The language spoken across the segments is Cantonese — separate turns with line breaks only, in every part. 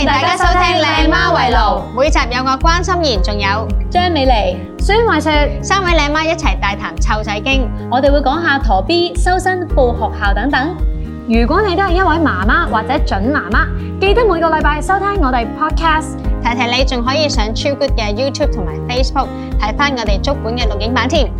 迎大家收聽靚媽圍爐，每集有我關心妍，仲有
張美妮、孫慧雪
3位靚媽一齊大談湊仔經，
我哋會講下陀 B、修身、報學校等等。
如果你都係一位媽媽或者準媽媽，記得每個禮拜收聽我哋 podcast。
提提你仲可以上超 good 嘅 YouTube 同埋 Facebook 睇返我哋足本嘅錄影版添。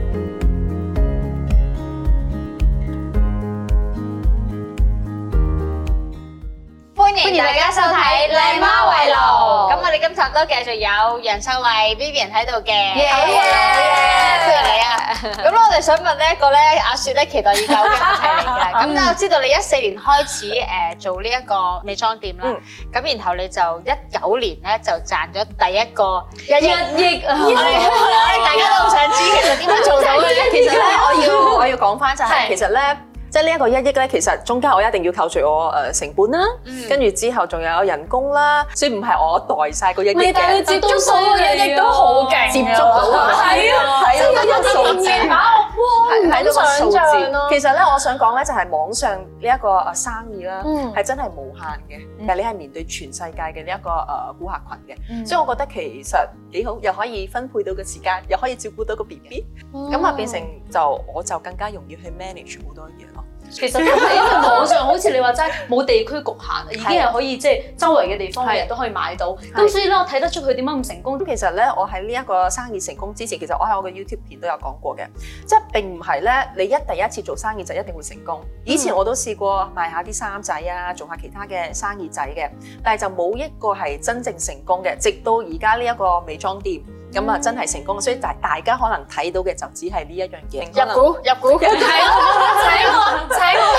歡迎大家收睇靚媽圍爐。咁我哋今集都繼續有楊秀麗、Vivian 喺度嘅。好嘢！歡迎你啊！咁我哋想問呢一個咧，阿雪咧期待已久嘅問題嚟嘅。咁咧，我知道你14年開始做呢一個美妝店啦。咁然後你就19年咧就賺咗第一個1億。大家都好想知其實點樣做到嘅咧？
其實咧，我要講翻就係其實咧。即係呢一個1億咧，其實中間我一定要扣除我成本啦，跟住之後仲有人工啦，所以唔係我代晒個1億嘅。
但係接觸到1億都好勁，
接觸到啊，係啊，睇到個數字，睇到個數字。其實咧，我想講咧就係網上呢一個生意啦，係真係無限嘅。但係你係面對全世界嘅呢一個顧客群嘅，所以我覺得其實幾好，又可以分配到個時間，又可以照顧到個 BB， 咁啊變成我就更加容易去 manage 好多嘢咯。
其實都係因為網上好似你話齋冇地區局限，已經係可以即係周圍嘅地方嘅人都可以買到。咁所以咧，我睇得出佢點解咁成功。
咁其實咧，我喺呢一個生意成功之前，其實我喺我嘅 YouTube 片都有講過嘅，即係並唔係咧，你第一次做生意就一定會成功。以前我都試過賣下啲衫仔啊，做下其他嘅生意仔嘅，但係就冇一個係真正成功嘅。直到而家呢一個美妝店。咁啊，真係成功，所以大家可能睇到嘅就只係呢一樣嘢。
入股，請我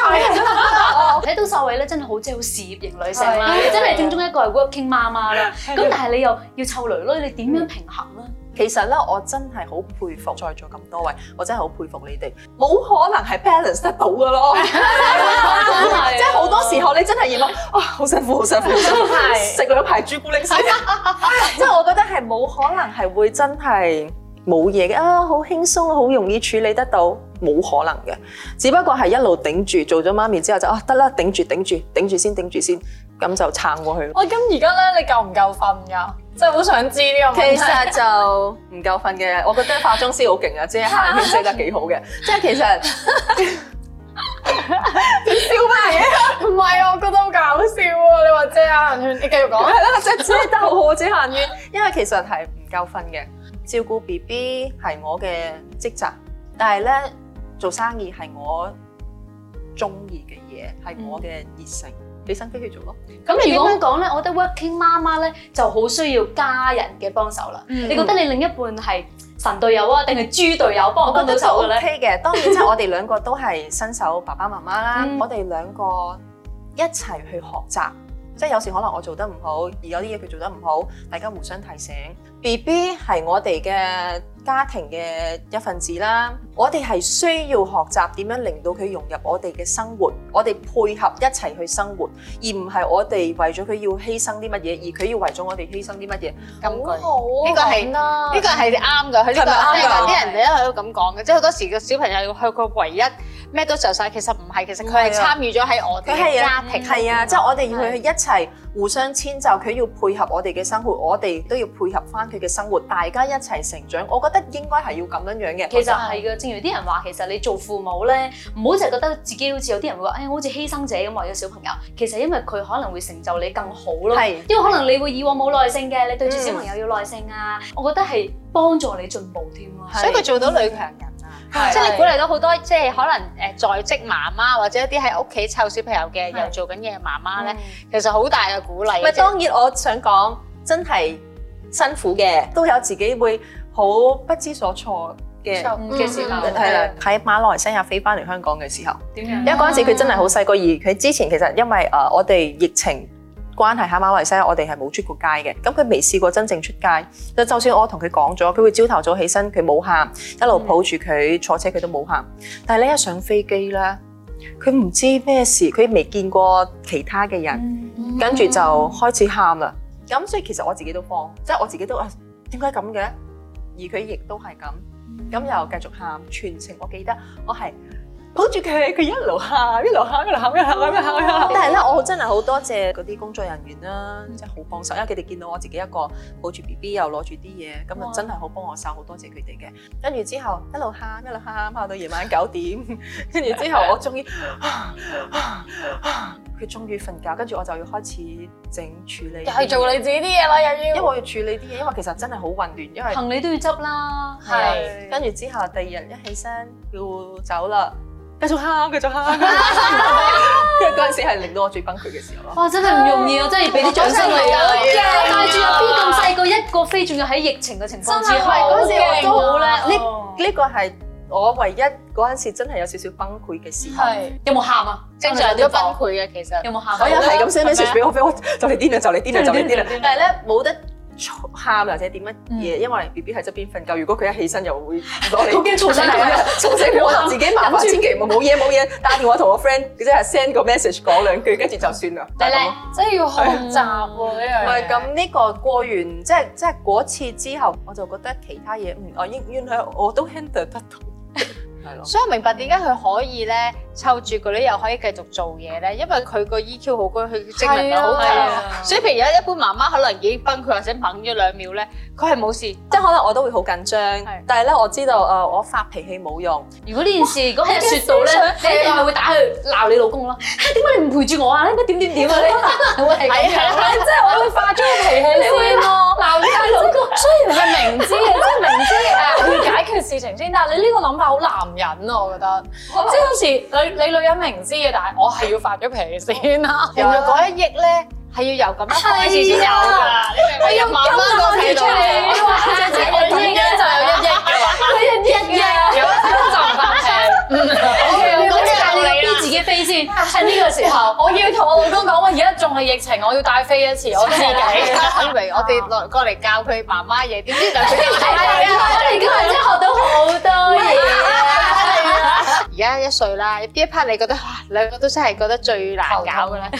friend
睇到秀慧咧，真係好似好事業型女性啦，你真係正宗一個係 working 媽媽啦。咁但係你又要湊女女，你點樣平衡咧？
其實咧，我真係好佩服在座咁多位，我真係好佩服你哋，冇可能係 balance 得到㗎咯。即係好多時候你真係要諗，好辛苦，食兩排朱古力先。即係我覺得係冇可能係會真係冇嘢嘅好輕鬆，好容易處理得到，冇可能嘅。只不過係一路頂住，做咗媽咪之後就得啦，頂住先，咁就撐過去。
咁而家咧，你夠唔夠瞓㗎？真係好想知呢個問題。
其實就唔夠瞓嘅，我覺得化妝師好勁啊，即係下眼寫得幾好嘅。即係其實
笑乜嘢？唔係啊，我覺得好搞笑啊！你話遮眼圈，你繼續講。
係啦，遮得好好遮眼圈，因為其實係唔夠瞓嘅。照顧 BB 係我嘅職責，但係咧做生意係我中意嘅嘢，係我嘅熱誠。俾心機去做咯。
咁如果咁講咧，我覺得 working 媽媽咧就好需要家人嘅幫手啦。你覺得你另一半係神隊友啊，定係豬隊友幫到手嘅咧？
OK 嘅，當然即係我哋兩個都係新手爸爸媽媽啦。我哋兩個一齊去學習，即係有時可能我做得唔好，而有啲嘢佢做得唔好，大家互相提醒。BB 係我哋嘅家庭嘅一份子啦，我哋係需要學習點樣令到佢融入我哋嘅生活，我哋配合一齊去生活，而唔係我哋為咗佢要犧牲啲乜嘢，而佢要為咗我哋犧牲啲乜嘢。
咁
好
呢個係啱㗎，佢呢個啲人哋都喺度咁講嘅，即係好多時個小朋友佢唯一咩都就晒，其實唔係，其實佢係參與咗喺我哋嘅家庭。
係啊，即係我哋要去一齊互相遷就，佢要配合我哋嘅生活，我哋都要配合翻佢嘅生活，大家一齊成長。我覺得應該係要咁樣樣嘅。
其實係嘅，正如啲人話，其實你做父母咧，唔好淨係覺得自己好似有啲人會話，我好似犧牲者咁為咗小朋友。其實因為佢可能會成就你更好咯。因為可能你會以往冇耐性嘅，你對住小朋友要耐性啊。我覺得係幫助你進步添咯。
所以佢做到女強人啊！即係你鼓勵到好多，即係可能在職媽媽或者一啲喺屋企湊小朋友嘅又做緊嘢嘅媽媽咧，其實好大嘅鼓勵。
咪當然，我想講真係辛苦嘅，都有自己會好不知所措嘅時候。係啦，喺馬來西亞飛翻嚟香港嘅時候，
點樣？
因為嗰陣時佢真係好細個，而佢之前其實因為我哋疫情關係喺馬來西亞，我哋係冇出過街嘅。咁佢未試過真正出街。就算我同佢講咗，佢會朝頭早起身，佢冇喊，一路抱住佢坐車，佢都冇喊。但係呢一上飛機咧，佢唔知咩事，佢未見過其他嘅人，跟住就開始喊啦。咁所以其實我自己都慌，即係我自己都點解咁嘅？而佢亦都係咁，咁又繼續喊。全程我記得我係抱住佢，佢一路喊，一路喊，一路喊，一路喊，一路喊。但係咧，我真係好多謝嗰啲工作人員啦，即係好幫手，因為佢哋見到我自己一個抱住 BB 又攞住啲嘢，咁啊真係好幫我手，好多謝佢哋嘅。跟住之後一路喊，一路喊到夜晚9點，跟住之後我終於佢終於瞓覺，跟住我就要開始處理。
又係做你自己啲嘢啦，又要。
因為我要處理啲嘢，因為其實真係好混亂，因為
行李都要執啦。
係。跟住之後第二日一起身要走啦。繼續喊，繼續喊。跟住嗰陣時係令到我最崩潰嘅時候咯。
哇！真係唔容易啊，真係要俾啲掌聲你啊！帶住阿 B 咁細個一個飛，仲要喺疫情嘅情況之下，
嗰時我都
好叻。
呢個係我唯一嗰陣時真係有少少崩潰嘅時候。
有冇喊啊？
正常都崩潰嘅其實。
有冇喊？
我有係咁 send message 俾我，就嚟癲啦，就嚟癲啦，就嚟癲啦。但係咧冇得喊或者點乜嘢，因為 BB 喺側邊瞓覺。如果佢一起身又會攞嚟，好驚嘈醒佢，嘈醒佢我就自己麻煩，千祈冇嘢，打電話同我 friend，即係 send 個 message 講兩句，跟住就算啦。
真係要學習喎呢樣嘢。
唔係咁呢個過完，即係嗰次之後，我就覺得其他嘢我原來我都 handle 得到。係咯，
所以我明白點解佢可以咧湊住個女又可以繼續做嘢咧，因為佢個 EQ 好高，佢精力好強。所以譬如有一般媽媽可能已經崩潰或者掹咗2秒咧，佢係冇事，
即係可能我都會好緊張。但係咧我知道我發脾氣冇用。
如果呢件事如果喺説到咧，你一定係會打去鬧你老公咯。點解你唔陪住我啊？應該點啊？你會係咁樣，
即係我會發咗個脾氣先咯，鬧你老公。雖然係明知嘅，即係明知要解決事情先，但係你呢個諗法好男人啊，我覺得。即係有時你女人明知嘅，但係我係要發咗脾氣先啦。
原來嗰1億咧係要由咁樣開始先有㗎，你明唔明？媽媽個睇到你，
姐姐1億就有1億㗎啦，佢1億有就唔發脾氣。
咁即係你要逼自己飛先，喺呢個時候，
我要同我老公講話，而家仲係疫情，我要帶飛一次，我自己。
以為我哋過嚟教佢媽媽嘢，點知就佢哋
我哋今日真係學到好多嘢。
而家1歲啦，邊一 part 你覺得兩個都真係覺得最難搞嘅咧？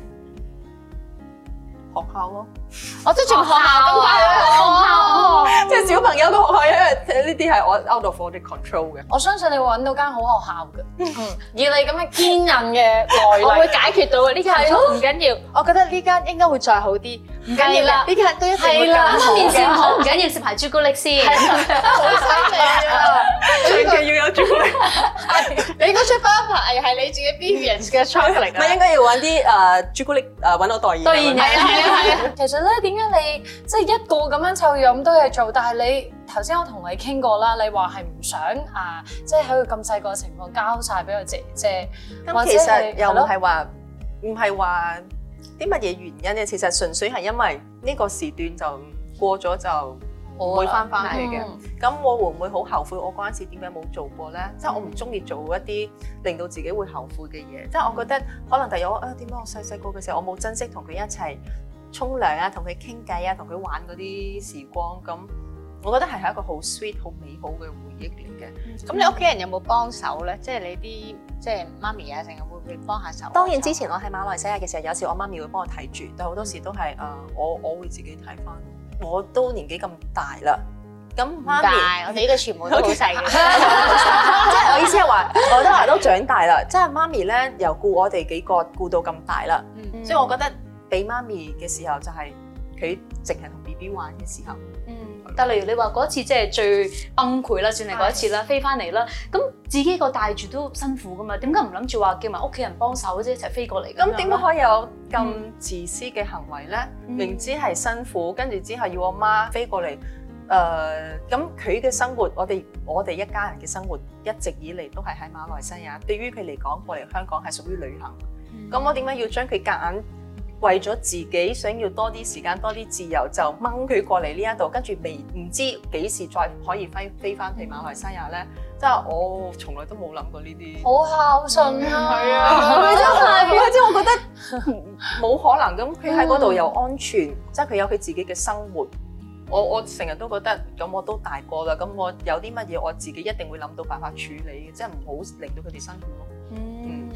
學校咯，
我都仲學校咁快去學校，
即係小朋友嘅學校，因為呢啲係我 out of 我哋 control 嘅。
我相信你會揾到間好學校嘅，以你咁嘅堅韌嘅耐力，
我會解決到嘅。呢間唔緊要，我覺得呢間應該會再好啲。唔緊要啦，呢間都一定會更好
面線好唔
嘅。
緊要，食埋朱古力先。
好犀利啊！
最緊要有朱古力。
你嗰出包牌係你自己 Vivian 嘅 chocolate
咪應該要揾啲朱古力揾我代言。
代言人
係啊！
其實咧，點解你即係一個咁樣湊有咁多嘢做，但係你頭先我同你傾過啦，你話係唔想即係喺佢咁細個嘅情況交晒俾個姐姐。
咁其實又唔係話啲乜嘢原因嘅，其實純粹係因為呢個時段就過咗就唔會翻去嘅。咁我會唔會好後悔我嗰陣時點解冇做過咧？即係我唔中意做一啲令到自己會後悔嘅嘢。即係我覺得可能第日點解我細個嘅時候我冇珍惜同佢一齊沖涼啊，同佢傾偈啊，同佢玩嗰啲時光。咁我覺得係一個好 sweet 好美好嘅回憶嚟嘅。
咁你屋企人有冇幫手咧？即係你啲即係媽咪啊，成日會唔會幫下手？
當然之前我喺馬來西亞嘅時候，有時我媽咪會幫我睇住，但好多時都係我會自己睇翻。我都年紀咁大啦，咁媽咪，
我哋呢個全部都好細嘅。
即係我意思係話，我都長大啦。即係媽咪咧，由顧我哋幾個顧到咁大啦，所以我覺得俾媽咪嘅時候就係佢淨係同 BB 玩嘅時候。
但例如你話嗰次即係最崩潰啦，算係嗰一次啦，飛翻嚟啦，咁自己個帶住都辛苦噶嘛，點解唔諗住話叫埋屋企人幫手啫，一齊飛過嚟？
咁點解可以有咁自私嘅行為咧？明知係辛苦，跟住之後要我媽飛過嚟，咁佢嘅生活，我哋一家人嘅生活一直以嚟都係喺馬來西亞，對於佢嚟講過嚟香港係屬於旅行，咁我點解要將佢夾硬？為咗自己想要多啲時間、多啲自由，就掹佢過嚟呢一度，跟住唔知幾時再可以飛翻去馬來西亞咧？即係我從來都冇諗過呢啲。
好孝順啊！
係啊，真係，即係我覺得冇可能咁，佢喺嗰度又安全，即係佢有佢自己嘅生活。我成日都覺得，咁我都大個啦，咁我有啲乜嘢我自己一定會諗到辦法處理嘅，即係唔好令到佢哋辛苦咯。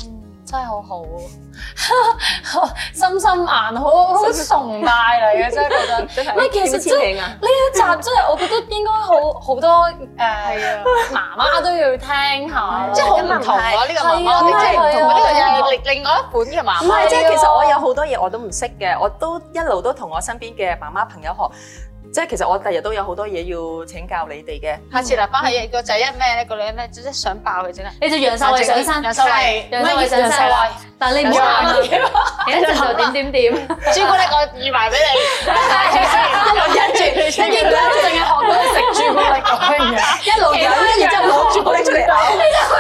真係好好，心心眼好崇拜嚟嘅，真係覺得。唔係其實真係呢一集真係我覺得應該好多媽媽都要聽下，
即係好唔同喎呢個媽媽，即係唔同呢個又係另外一款嘅媽媽。
唔係，即係其實我有好多嘢我都唔識嘅，我都一路都同我身邊嘅媽媽朋友學。即係其實我第日都有好多嘢要請教你哋嘅。
下次嗱，翻去個仔一咩咧，個女咧即係想爆佢整啊！
你就楊秀慧上身，
楊秀慧，
楊秀慧上身，但你唔好喊啊！你一陣就點，
朱古力我預埋俾你，忍住，
應該淨係學到佢食朱古力嗰樣嘢，
一路忍，然之後攞朱古力出嚟咬。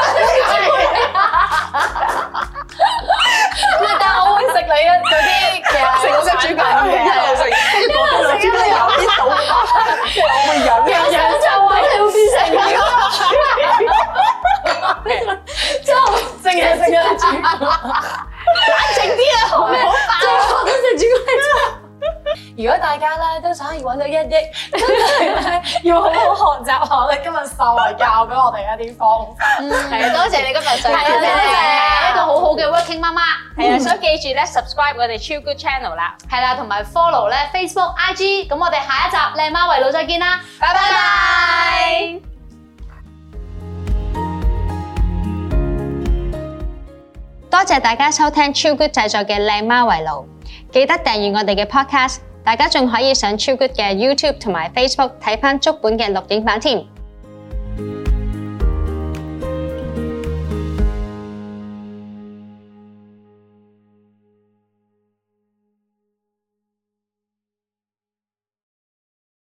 但係我會食你嗰啲嘅，
食我嘅朱古力嘅，一路食，跟住嗰啲朱古力有啲倒，我會忍。
楊秀慧你會變成咁，之後淨係食咗朱古力，
冷靜啲啊，好咩？
最後都食朱古力。如果大家咧都想要揾到1億，真係咧要好好學習下咧今日秀慧教俾我哋一啲方法。
係多謝你今日上嚟，
多謝一個好好嘅 working 媽媽。
係啊，所以記住咧 subscribe 我哋超 good channel 啦，
係啦，同埋 follow 咧 Facebook、IG。咁我哋下一集靚媽圍爐再見啦，
拜拜。多謝大家收聽超 good 製作嘅靚媽圍爐，記得訂閱我哋嘅 podcast。大家仲可以上超 good 嘅 YouTube 同埋 Facebook 睇返足本嘅錄影版添。